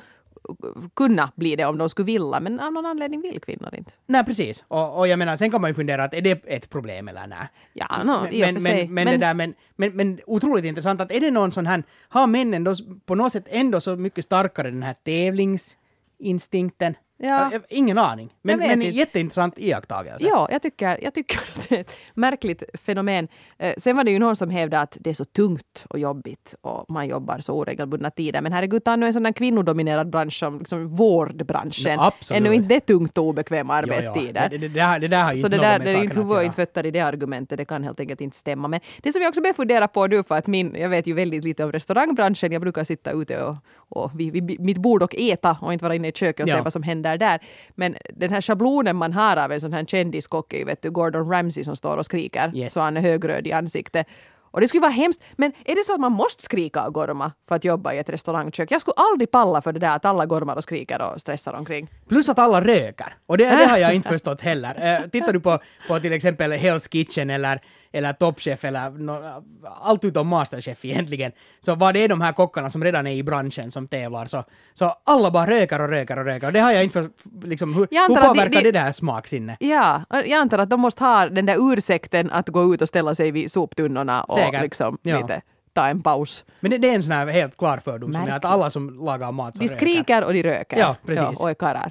kunna bli det om de skulle vilja, men av någon anledning vill kvinnor inte. Nej, precis. Och, och jag menar, sen kan man ju fundera att är det ett problem eller nej? Ja, no, men, i och för men, sig. men, men, det där, men, men, men otroligt intressant att är det någon sån här, har männen då på något sätt ändå så mycket starkare den här tävlingsinstinkten? Ja. Jag, ingen aning. Men, Jag vet men inte. jätteintressant iakttagelse. Ja, jag tycker, jag tycker att det är ett märkligt fenomen. Eh, sen var det ju någon som hävdade att det är så tungt och jobbigt och man jobbar så oregelbundna tider. Men herregud, ta nu en sån här kvinnodominerad bransch som liksom vårdbranschen. Ja, absolut. Ännu inte det tungt och obekväma Jo, jo. arbetstider. Det, det, det, där, det där har ju Så inte det något där, med det är saken inte att huvud och göra. inte fötter i det argumentet, det kan helt enkelt inte stämma. Men det som jag också börjar fundera på nu, för att min, jag vet ju väldigt lite om restaurangbranschen, jag brukar sitta ute och, och vid, vid mitt bord och äta och inte vara inne i köket och Ja. se vad som händer där. Men den här schablonen man har av en sån här kändiskock är ju, vet du, Gordon Ramsay som står och skriker, Yes. så han är högröd i ansiktet. Och det skulle vara hemskt, men är det så att man måste skrika och gorma för att jobba i ett restaurangkök? Jag skulle aldrig palla för det där att alla gormar och skriker och stressar omkring. Plus att alla röker. Och det, det har jag inte förstått heller. Eh, tittar du på, på till exempel Hell's Kitchen eller, eller Top Chef eller no, allt utom Masterchef egentligen, så var det är de här kockarna som redan är i branschen som tävlar, så, så alla bara röker och röker och röker. Och det har jag inte för, liksom, hur, Jag hur antar att påverkar de- de- det där smaksinne? Ja, och jag antar att de måste ha den där ursäkten att gå ut och ställa sig vid soptunnorna och Säkert. liksom Ja. lite ta en paus. Men det, det är en sån här helt klar fördom som är Märkligt. att alla som lagar mat så De röker. skriker och de röker. Ja, precis. och är karlar.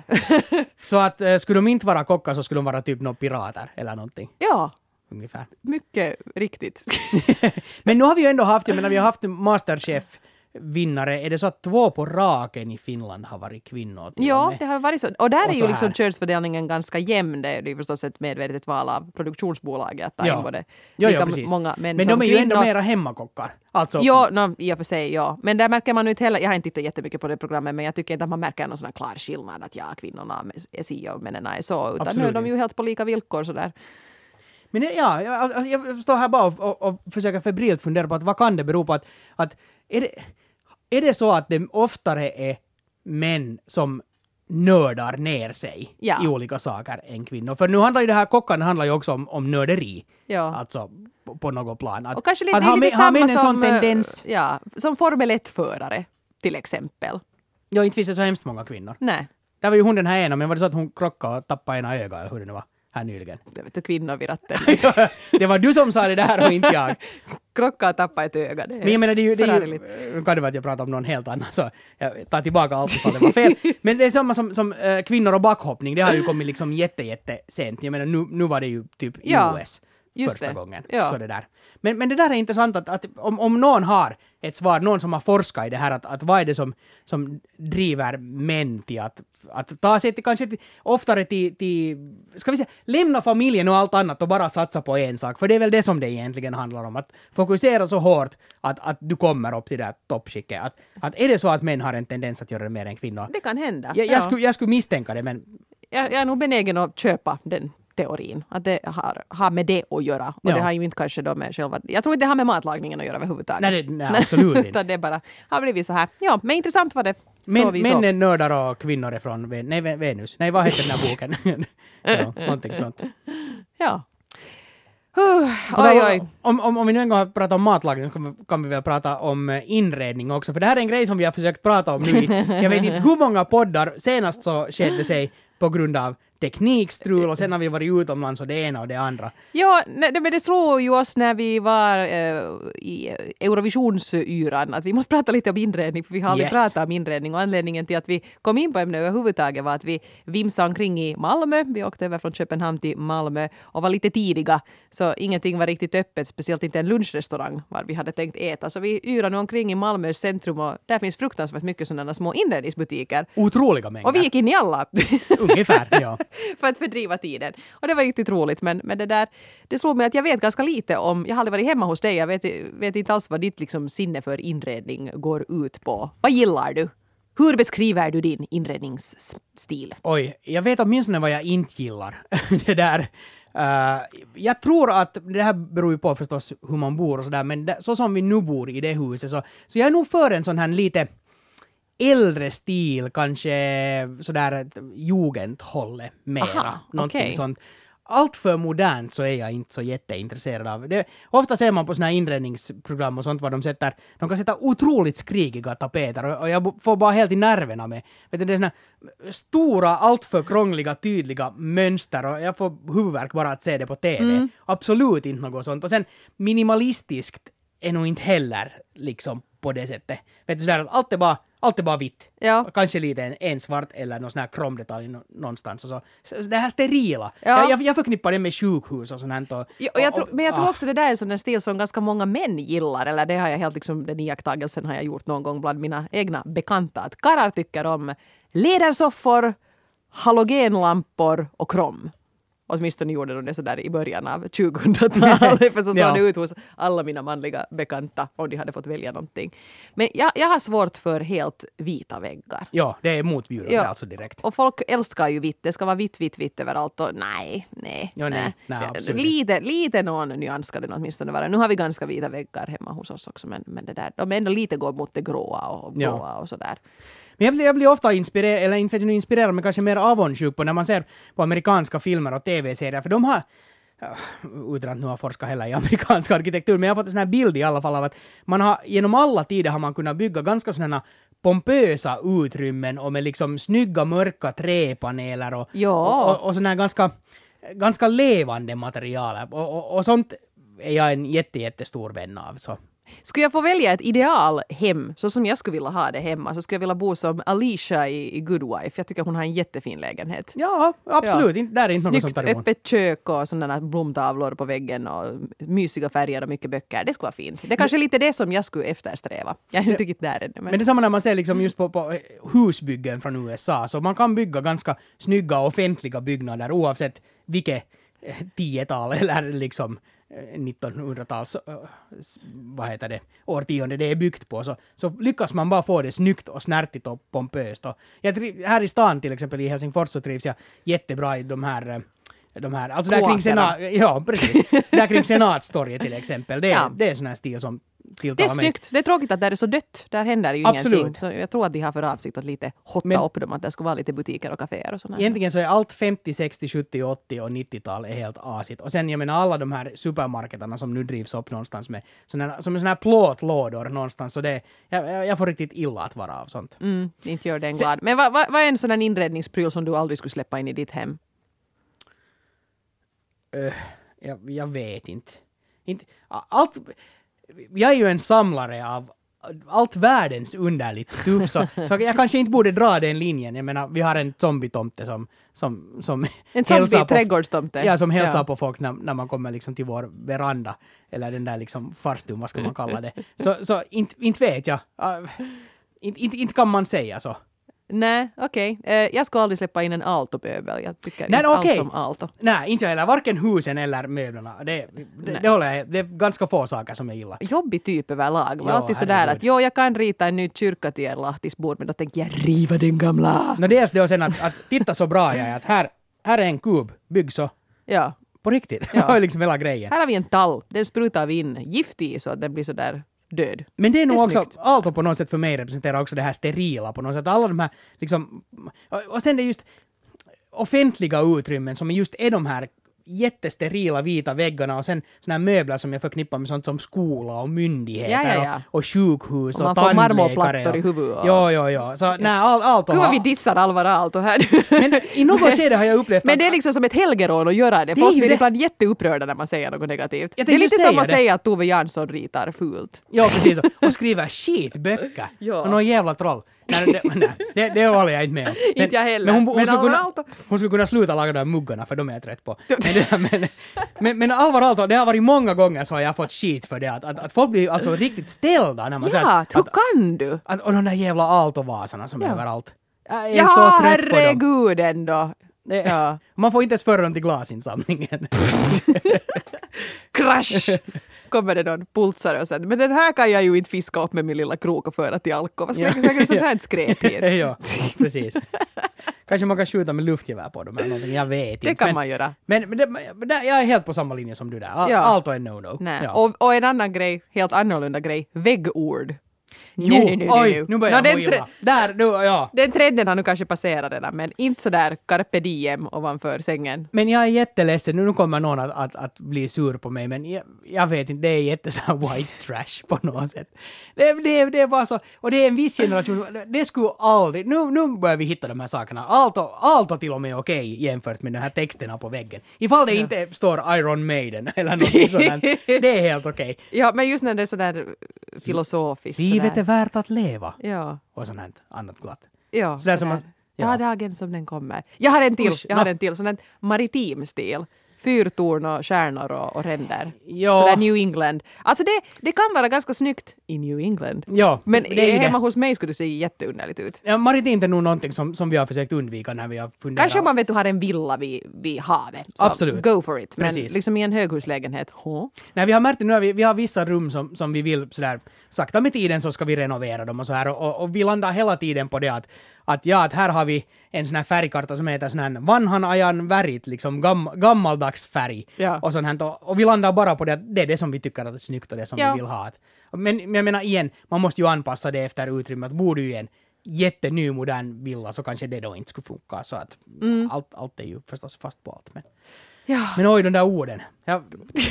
Så att eh, skulle de inte vara kockar så skulle de vara typ några pirater eller någonting. Ja, Ungefär. mycket riktigt. Men nu har vi ju ändå haft, jag menar vi har haft Masterchef-vinnare. Är det så att två på raken i Finland har varit kvinnor? till och Ja, med? det har varit så. Och där Och är så ju liksom här. könsfördelningen ganska jämn. Det är ju förstås ett medvetet val av produktionsbolaget att ta Ja. in både Jo, lika jo, precis. många män Men som de är ju ändå kvinnor. mera hemmakockar. Alltså, Ja, no, i och för sig, ja. Men där märker man ju inte heller, jag har inte tittat jättemycket på det programmet, men jag tycker inte att man märker någon sån här klar skillnad att ja, kvinnorna är si och männen är så, utan nu är Absolut de ju helt på lika villkor sådär. Men det, ja, jag, alltså, jag står här bara och, och, och försöker febrilt fundera på att vad kan det bero på att, att är, det, är det så att det oftare är män som nördar ner sig Ja. i olika saker än kvinnor? För nu handlar ju det här, kockarna handlar ju också om, om nörderi. Ja. Alltså på, på något plan. Att, Och kanske lite, att det är har, lite män- har samma män en sån som, eh, tendens? ja, som Formel ett-förare till exempel. Ja, inte finns det så hemskt många kvinnor. Nej, Där var ju hon den här ena, men var det så att hon krockade och tappade ena ögat eller hur det nu var här nyligen? jag vet du, kvinnor vid ratten. Det var du som sa det där och inte jag. Krocka och tappa ett öga. Det är Men jag menar, det är ju, det är ju, förargligt. nu kan det vara att jag pratar om någon helt annan, så jag tar tillbaka allt ifall det var fel. Men det är samma som, som äh, kvinnor och backhoppning, det har ju kommit liksom jätte, jätte sent. Jag menar, nu, nu var det ju typ i Ja, U S just första det. gången. Ja. Så det där. Men, men det där är intressant att, att om, om någon har ett svar, någon som har forskat i det här, att, att vad är det som, som driver män till att, att ta sig till, kanske till, oftare till, till, ska vi säga, lämna familjen och allt annat och bara satsa på en sak. För det är väl det som det egentligen handlar om, att fokusera så hårt att, att du kommer upp till det här toppskicket. Att, att är det så att män har en tendens att göra det mer än kvinnor? Det kan hända. Jag, jag, ja. skulle, jag skulle misstänka det, men jag, jag är nog benägen att köpa den teorin, att det har, har med det att göra. Och Ja. det har ju inte kanske då med själva... Jag tror inte det har med matlagningen att göra överhuvudtaget. nej, det, nej absolut inte. Utan det bara har blivit så här. Ja, men intressant var det. Men, så vi män så. är nördar och kvinnor är från Ven- nej, Ven- Venus. Nej, vad heter den här boken? ja, någonting sånt. Ja. Huh, Och oj, då- oj. Om, om, om vi nu en gång har pratat om matlagning så kan vi, kan vi väl prata om eh, inredning också. För det här är en grej som vi har försökt prata om nu i, jag vet inte hur många poddar. Senast så skedde sig på grund av teknikstrul och sen har vi varit utomlands och det ena och det andra. Ja, nej, men det slog ju oss när vi var eh, i Eurovisionsyran att vi måste prata lite om inredning, för vi har aldrig Yes. pratat om inredning, och anledningen till att vi kom in på ämnet överhuvudtaget var att vi vimsade omkring i Malmö. Vi åkte över från Köpenhamn till Malmö och var lite tidiga, så ingenting var riktigt öppet, speciellt inte en lunchrestaurang var vi hade tänkt äta. Så vi yrade nu omkring i Malmös centrum och där finns fruktansvärt mycket sådana små inredningsbutiker. Otroliga mängder. Och vi gick in i alla. Ungefär, ja. för att fördriva tiden. Och det var riktigt roligt, men, men det där, det slog mig att jag vet ganska lite om, jag har aldrig varit hemma hos dig, jag vet, vet inte alls vad ditt liksom, sinne för inredning går ut på. Vad gillar du? Hur beskriver du din inredningsstil? Oj, jag vet åtminstone vad jag inte gillar. det där. Uh, jag tror att det här beror ju på förstås hur man bor och sådär, men det, så som vi nu bor i det huset så, så jag är nog för en sån här lite äldre stil, kanske sådär jugendhållet mera. Aha, någonting okej. sånt. Allt för modernt så är jag inte så jätteintresserad av det. Ofta ser man på såna här inredningsprogram och sånt vad de sätter, de kan sätta otroligt skrikiga tapeter och, och jag får bara helt i nerverna med. Vet du, det är såna stora, alltför krångliga, tydliga mönster och jag får huvudvärk bara att se det på T V. Mm. Absolut inte något sånt. Och sen minimalistiskt är nog inte heller liksom på det sättet. Vet du, sådär att allt är bara Allt är bara vitt. Ja. Kanske lite en, en svart eller någon sån här kromdetalj nå- någonstans. Och så. Så, så det här sterila. Ja. Jag, jag, jag förknippar det med sjukhus och sånt här. Och, Ja, och jag och- tror, men jag tror ah. också det där är en sån där stil som ganska många män gillar, eller det har jag helt liksom, den iakttagelsen har jag gjort någon gång bland mina egna bekanta, att karlar tycker om lädersoffor, halogenlampor och krom. Åtminstone gjorde de det sådär i början av tjugohundratalet, för så såg Ja. det ut hos alla mina manliga bekanta om de hade fått välja någonting. Men jag, jag har svårt för helt vita väggar. Ja, det är motbjudande Ja. alltså direkt. Och folk älskar ju vitt. Det ska vara vitt, vitt, vitt överallt. Och nej, nej, Ja, nej, nej, absolut. lite, lite någon nyans ska det åtminstone vara. Nu har vi ganska vita väggar hemma hos oss också. Men, men det där, de är ändå lite går mot det gråa och blåa Ja. och sådär. Men jag blir, jag blir ofta inspirerad, eller inte vet jag nu inspirerad, men kanske mer avundsjuk på när man ser på amerikanska filmer och tv-serier. För de har, ja, utan att nu har forskat heller i amerikansk arkitektur, men jag har fått en sån här bild i alla fall av att man har, genom alla tider har man kunnat bygga ganska sådana pompösa utrymmen och med liksom snygga mörka träpaneler och, Ja. och, och, och sådana här ganska, ganska levande material. Och, och, och sånt är jag en jätte, jättestor vän av. Så. Skulle jag få välja ett idealhem, så som jag skulle vilja ha det hemma, så skulle jag vilja bo som Alicia i, i Good Wife. Jag tycker hon har en jättefin lägenhet. Ja, absolut. Ja. Inte, där är inte något Snyggt sånt där emot. öppet kök och sådana blomtavlor på väggen och mysiga färger och mycket böcker. Det skulle vara fint. Det är kanske lite det som jag skulle eftersträva. Jag är inte riktigt där ännu. Men... Men det är samma när man ser liksom just på, på husbyggen från U S A. Så man kan bygga ganska snygga offentliga byggnader oavsett vilket eh, tiotal eller liksom eh, nittonhundratals eh, s- vad heter det, årtionde det är byggt på. Så, så lyckas man bara få det snyggt och snärtigt och pompöst. Och jag, tri- här i stan till exempel i Helsingfors så trivs jag jättebra i de här eh, de här, alltså där kring, Kåkerna. senat, ja, precis. där kring Senatstorget till exempel. Det, är- Ja. det är sån här stil som Det är tilltalar mig. snyggt. Det är tråkigt att det är så dött. Där händer ju Absolut. ingenting. Så jag tror att de har för avsikt att lite hotta Men- upp dem. Att det ska vara lite butiker och kaféer och sådär. Egentligen så är allt femtio, sextio, sjuttio, åttio och nittiotal är helt asigt. Och sen jag menar alla de här supermarketerna som nu drivs upp någonstans med såna, som är såna här plåtlådor någonstans. Så det, jag, jag jag får riktigt illa att vara av sånt. Mm, inte gör den glad. Men vad, vad, vad är en sån här inredningspryl som du aldrig skulle släppa in i ditt hem? Öh, jag, jag vet inte. inte. Allt, jag är ju en samlare av allt världens underligt stuff, så, så jag kanske inte borde dra den linjen. Jag menar, vi har en zombietomte som, som, som En hälsar zombie på- trädgårdstomte. Ja, som hälsar Ja. på folk när, när man kommer liksom till vår veranda. Eller den där liksom farstun, vad ska man kalla det. Så, så inte, inte vet jag. Uh, inte, inte, inte kan man säga så. Nej, okej. Okay. Eh, jag skulle aldrig släppa in en Aalto-möbel. Jag tycker Nej, inte okej. alls om Aalto. Nej, inte jag heller. Varken husen eller möblerna. Det, det, Nej. det håller jag. Det är ganska få saker som jag gillar. Jobbig typ överlag. Det var Ja, alltid sådär herregud. att jo, jag kan rita en ny kyrka till er lahtisbord, men då tänker jag riva den gamla. No, dels det och sen att, att titta så bra jag är att här, här är en kub, bygg så Ja. på riktigt. Ja. Det är liksom hela grejen. Här har vi en tall. Den sprutar vi in gift i så att den blir sådär död. Men det är nog Det är också, snyggt. Aalto på något sätt för mig representerar också det här sterila på något sätt. Alla de här liksom, och, och sen det är just offentliga utrymmen som just är de här jättesterila vita väggarna och sen såna här möbler som jag förknippar med sånt som skola och myndigheter Ja, ja, ja. Och, och sjukhus och, Och och man får tandläkare. marmorplattor i huvudet. Och... Ja, ja, ja. Så nej, all, allt Gud vad vi dissar Alvar Aalto här. Men i något skede har jag upplevt Men att... det är liksom som ett helgerån att göra det. Det är Folk ju blir det. ibland jätteupprörda när man säger något negativt. Jag Det är tänkte lite säga som att det. säga att Tove Jansson ritar fult. Ja, precis. Och skriver skitböcker. Ja. Och någon jävla troll. Nej, det, nej, det, det håller jag inte med om. Men, Inte jag heller. Men hon, hon, Men skulle Alvar kunna, Aalto- hon skulle kunna sluta laga de här muggarna för de är jag trött på. Men, det, men, men, men Alvar Aalto, det har varit många gånger så har jag fått skit för det. Att, att, att folk blir alltså riktigt ställda när man säger Ja, att, hur att, kan du? att... Och de där jävla Aalto-vasarna som är Ja. överallt. Jag är Ja, så trött på dem. herregud ändå. Det, Ja. Man får inte ens föra dem till glasinsamlingen. Crash! Kommer det någon pulsare och sen, men den här kan jag ju inte fiska upp med min lilla krok och föra till Alko. Vad ska jag göra sånt här skräp hit? Ja, precis. Kanske man kan skjuta med luftgevär på dem eller någonting, jag vet inte. Det kan men, man göra. Men, men, det, men det, jag är helt på samma linje som du där. All, Ja. Allt är no-no. Nej. Ja. Och, och en annan grej, helt annorlunda grej, väggord. Jo, Nej, nej, nej, nej, oj, nej. nu börjar Nå, jag må den tre- illa. Där, du, ja. Den trenden har nu kanske passerat redan, men inte sådär carpe diem ovanför sängen. Men jag är jätteledsen, nu kommer någon att, att, att bli sur på mig, men jag, jag vet inte, det är jätte så här white trash på något sätt. Det, det, det är bara så, och det är en viss generation, det skulle aldrig, nu, nu börjar vi hitta de här sakerna. Allt och, allt och till och med okej jämfört med de här texterna på väggen. Ifall det Ja. inte står Iron Maiden eller något sådant, det är helt okej. Ja, men just när det är sådär filosofiskt. Livet sådär. är värt att leva. Ja, Och sånt här annat glatt. ja. Sådär som sådär. att- ja. Ta dagen som den kommer. Jag har en till, Usch, jag har nå. en till, sån här maritim stil. Fyrtorn och stjärnor och, och ränder. Ja. Sådär New England. Alltså det, det kan vara ganska snyggt i New England. Ja, Men det är ju hemma det. hos mig skulle det se jätteunderligt ut. Ja, maritimt är nog någonting som, som vi har försökt undvika när vi har funderat. Kanske om man vet du har en villa vid, vid havet. Så Absolut. Go for it. Men Precis. liksom i en höghuslägenhet. Huh? Nej, vi har märkt det nu, vi, vi har vissa rum som, som vi vill sådär, sakta med tiden så ska vi renovera dem och så här och, och, och vi landar hela tiden på det att, att ja, att här har vi en sån här färgkarta som heter sån här vanhan ajan värit, liksom gam, gammaldags färg. Ja. Och sånt här, och, och vi landar bara på det att det är det som vi tycker att är snyggt och det som Ja. vi vill ha. Men, men jag menar igen, man måste ju anpassa det efter utrymmet. Bor du i en jätteny modern villa så kanske det då inte skulle funka så att Mm. allt, allt är ju förstås fast på allt. Men, Ja. men oj, de där orden. Jag,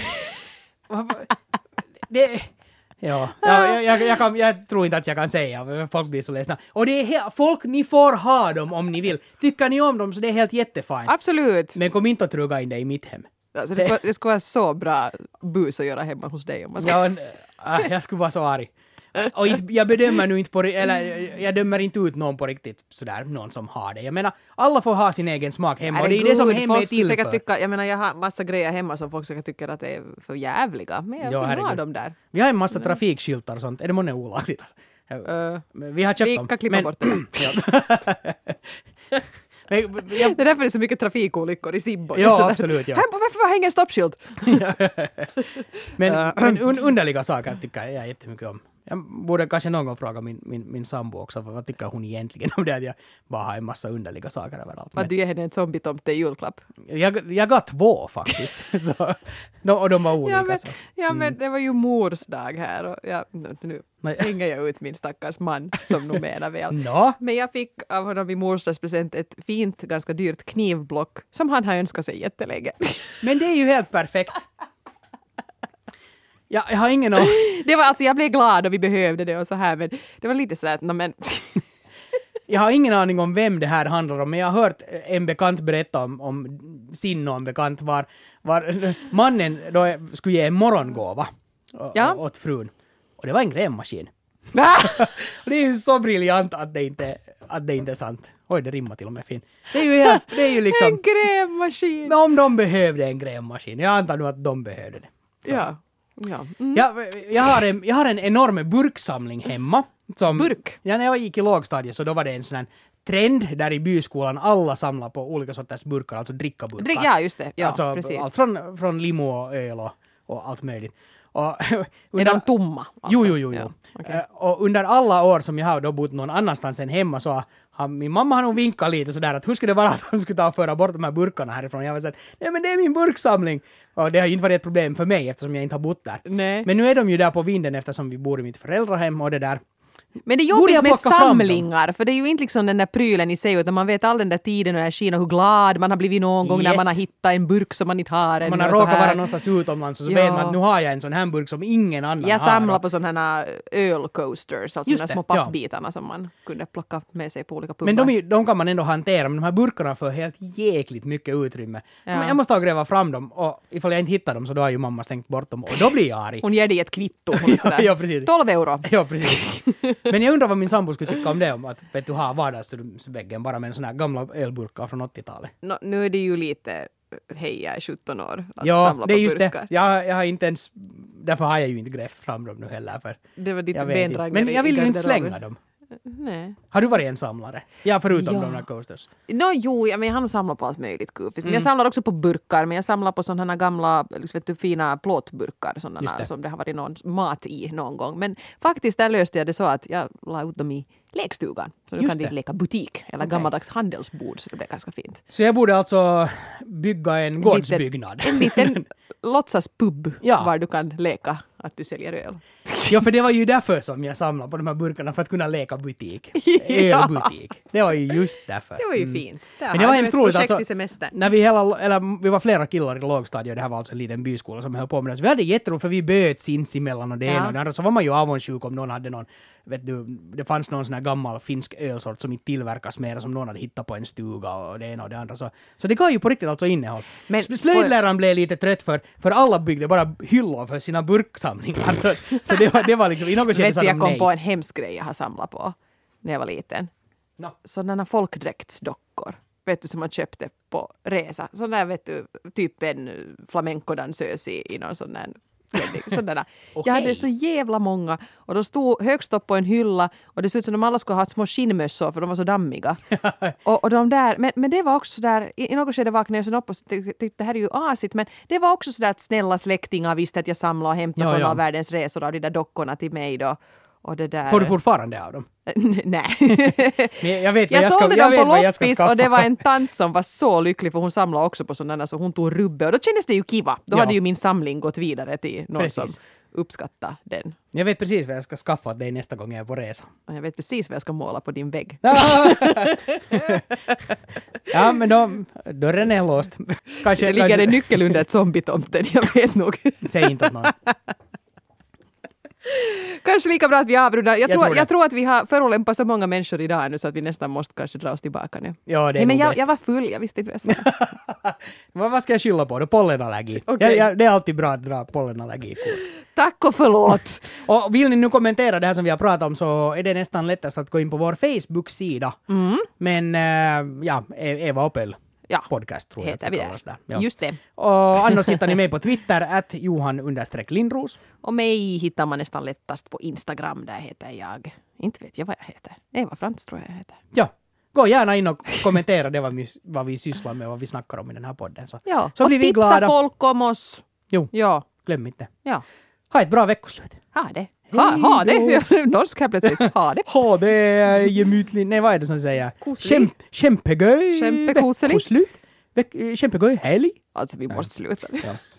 det, ja, jag, jag, jag, kan, jag tror inte att jag kan säga, folk blir så ledsna. Och det är he- folk, ni får ha dem om ni vill. Tycker ni om dem så det är helt jättefint. Absolut. Men kom inte att trugga in det i mitt hem. Alltså, det, skulle, det skulle vara så bra bus att göra hemma hos dig om man ska. Ja, äh, jag skulle vara så arg. Och inte, jag bedömer nu inte på, ri- eller jag dömer inte ut någon på riktigt sådär, någon som har det. Jag menar, alla får ha sin egen smak hemma och det är det som Herregud, hem är folk till säkert för. tycka, jag menar jag har massa grejer hemma som folk säkert tycker att det är för jävliga. Men jag Ja, vill ha herregud. dem där. Vi har en massa trafikskyltar och sånt. Är det månne olagligt? Uh, Vi har köpt vi dem. kan klippa bort det. Ja. Men, jag, Det är därför det är så mycket trafikolyckor i Sibbo. Ja, Sådär. absolut, ja. Här, varför hänger stoppskylt? men, men un, underliga saker tycker jag jättemycket om. Jag borde kanske någon gång fråga min, min, min sambo också, vad tycker hon egentligen om det att jag bara har en massa underliga saker överallt. Vad du ger henne en zombietomte i julklapp? Jag, jag gav två faktiskt. så, de, och de var olika. Ja men, så. ja, men det var ju mors dag här och ja, nu, nu Nej. hänger jag ut min stackars man som nog menar väl. Nå, Men jag fick av honom i morsdagspresent ett fint, ganska dyrt knivblock som han har önskat sig jättelänge. men det är ju helt perfekt. Jag, jag har ingen aning. Det var alltså, jag blev glad och vi behövde det och så här, men det var lite så att, no, men Jag har ingen aning om vem det här handlar om, men jag har hört en bekant berätta om, om sin någon bekant var, var mannen då skulle ge en morgongåva å- Ja. åt frun. Och det var en grävmaskin. Och det är ju så briljant att det inte, att det inte är sant. Oj, det rimmar till och med fint. Det är ju, helt, det är ju liksom... en grävmaskin! Men om de behövde en grävmaskin, jag antar nu att de behövde det. Så. Ja. Ja. Mm. Jag, jag, har en, jag har en enorm burksamling hemma. Som, Burk? Ja, när jag gick i lågstadiet så då var det en sån här trend där i byskolan alla samlar på olika sorters burkar, alltså drickaburkar. Drick, ja, just det. Ja, alltså, precis. allt från, från limo och öl och, och allt möjligt. Och, Är under, de tomma? Alltså? Jo, jo, jo. jo. Ja, okej. Eh, och under alla år som jag har då bott någon annanstans än hemma så har min mamma har nog vinkat lite sådär att hur skulle det vara att hon skulle ta och föra bort de här burkarna härifrån. Jag var såhär, nej men det är min burksamling. Och det har ju inte varit ett problem för mig eftersom jag inte har bott där. Nej. Men nu är de ju där på vinden eftersom vi bor i mitt föräldrahem och det där. Men det är Borde jobbigt jag med plocka fram dem? samlingar, för det är ju inte liksom den där prylen i sig, utan man vet all den där tiden och energin och hur glad man har blivit någon gång Yes. när man har hittat en burk som man inte har ännu. Man har och så råkat här. vara någonstans utomlands och så Ja. vet man att nu har jag en sån här burk som ingen annan Jag har. samlar på sådana här ölcoasters, alltså de Just där det, små ja. pappbitarna som man kunde plocka med sig på olika pubbar. Men de, är- de kan man ändå hantera, men de här burkarna får helt jäkligt mycket utrymme. Ja. Men jag måste ha gräva fram dem, och ifall jag inte hittar dem så då har ju mamma slängt bort dem, och då blir jag arg. Hon ger dig ett kvitto. Hon är Ja, sådär, ja, precis. tolv euro. Ja, precis. Men jag undrar vad min sambo skulle tycka om det, om att vet du, ha vardagsväggen bara med en sån här gamla ölburkar från åttiotalet. No, nu är det ju lite, hej jag är sjutton år, att Ja, samla det är på just burkar. det. Jag, jag har inte ens, därför har jag ju inte grävt fram dem nu heller. För Det var ditt jag vet inte. bendragare Men jag vill i ju inte garderoben. slänga dem. Nej. Har du varit en samlare? Ja, förutom Ja. de där coasters. No, jo, ja, men jag har nog samlat på allt möjligt kufiskt. Mm. Jag samlar också på burkar, men jag samlar på sådana här gamla liksom, vet du, fina plåtburkar Just sådana det. som det har varit någon mat i någon gång. Men faktiskt där löste jag det så att jag la ut dem i lekstugan. Så nu Just kan de det. leka butik eller Okej. gammaldags handelsbord, så det blev ganska fint. Så jag borde alltså bygga en gårdsbyggnad. En liten låtsaspub Ja. var du kan leka att du säljer öl. Ja, för det var ju därför som jag samlade på de här burkarna, för att kunna leka butik. Ja. Ölbutik. Det var ju just därför. Det var ju Mm. fint. Men det var var hemskt ett roligt. projekt Alltså, i semestern. när vi, hela, eller, vi var flera killar i lågstadiet, det här var alltså en liten byskola som höll på med det. Så vi hade jätteroligt, för vi böt sinsemellan och det Ja. ena och det andra. Så var man ju avundsjuk om någon hade någon, vet du, det fanns någon sån här gammal finsk ölsort som inte tillverkas mer, som någon hade hittat på en stuga och det ena och det andra. Så, så det gav ju på riktigt alltså innehåll. Men- Slöjdläraren blev lite trött för, för alla byggde bara hyllor för sina burksamlingar. Så, så det, var, det var liksom, i något skede Vet sa du, de jag kom nej. på en hemsk grej jag har samlat på när jag var liten. No. Sådana folkdräktsdockor. Vet du, som man köpte på resa. Sådana där, vet du, typ en flamencodansös i, i någon sån där klänning. Sådana. Okej. Jag hade så jävla många. Och de stod högst upp på en hylla. Och det såg ut som de alla skulle ha haft små skinnmössor för de var så dammiga. och, och de där, men, men det var också sådär, i, i något skede vaknade jag sen upp och tyckte tyck, det här är ju asigt. Men det var också sådär att snälla släktingar visste att jag samlade och hämtade Ja, från ja. all världens resor av de där dockorna till mig då. Och det där... Får du fortfarande av dem? Nej. Men jag vet vad Jag, jag, ska, sålde jag dem vet på vad jag ska loppis skaffa. och det var en tant som var så lycklig för hon samlade också på sådana så hon tog rubbe och då kändes det ju kiva. Då Ja. hade ju min samling gått vidare till någon Precis. som uppskattar den. Jag vet precis vad jag ska skaffa åt dig nästa gång jag är på resa. Och jag vet precis vad jag ska måla på din vägg. Ja, men då, dörren är låst. Kanske, Det ligger kanske, en nyckel under ett zombietomten, jag vet nog. säg inte åt någon. Kanske lika bra att vi avrundar. Jag, Jag tror, tror det. jag tror att vi har förolämpat så många människor idag nu så att vi nästan måste kanske dra oss tillbaka nu. Ja, det är Nej, men nog jag, bäst. jag var full, jag visste inte vad jag sa. Vad, vad ska jag skylla på då? Pollenallergi. Okej. Jag, jag, det är alltid bra att dra pollenallergi. Tack och förlåt! Och vill ni nu kommentera det här som vi har pratat om så är det nästan lättast att gå in på vår Facebook-sida. Mm. Men äh, ja, E- Eva Opel Ja, podcast tror jag heter att vi det där. kallas där. Ja. Just det. Och annars hittar ni mig på Twitter, att Johan understreck Lindros. Och mig hittar man nästan lättast på Instagram. Där heter jag, inte vet jag vad jag heter. Eva Frans tror jag jag heter. Ja, gå gärna in och kommentera det vad vi, vad vi sysslar med och vad vi snackar om i den här podden. Så, Ja, så och blir vi tipsa glada. folk om oss. Jo, Ja, glöm inte. ja. Ha ett bra veckoslut. Ha det. Ha, ha det. Norsk här plötsligt. Ha det. Ha det gemytligt. Nej, vad är det som säger? Koselig. Kämp, kämpegöj Kämpekoselig. veckoslut. Veck, kämpegöj helg. Alltså vi måste sluta. Ja.